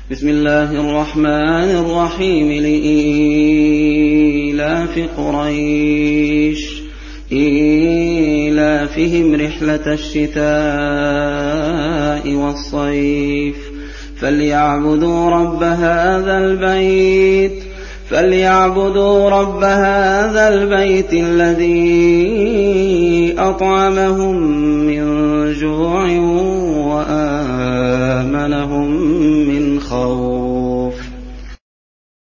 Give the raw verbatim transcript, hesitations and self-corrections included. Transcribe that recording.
بسم الله الرحمن الرحيم لإيلاف قريش إيلافهم رحلة الشتاء والصيف فليعبدوا رب هذا البيت فليعبدوا رب هذا البيت الذي أطعمهم من جوع وآمنهم من خوف.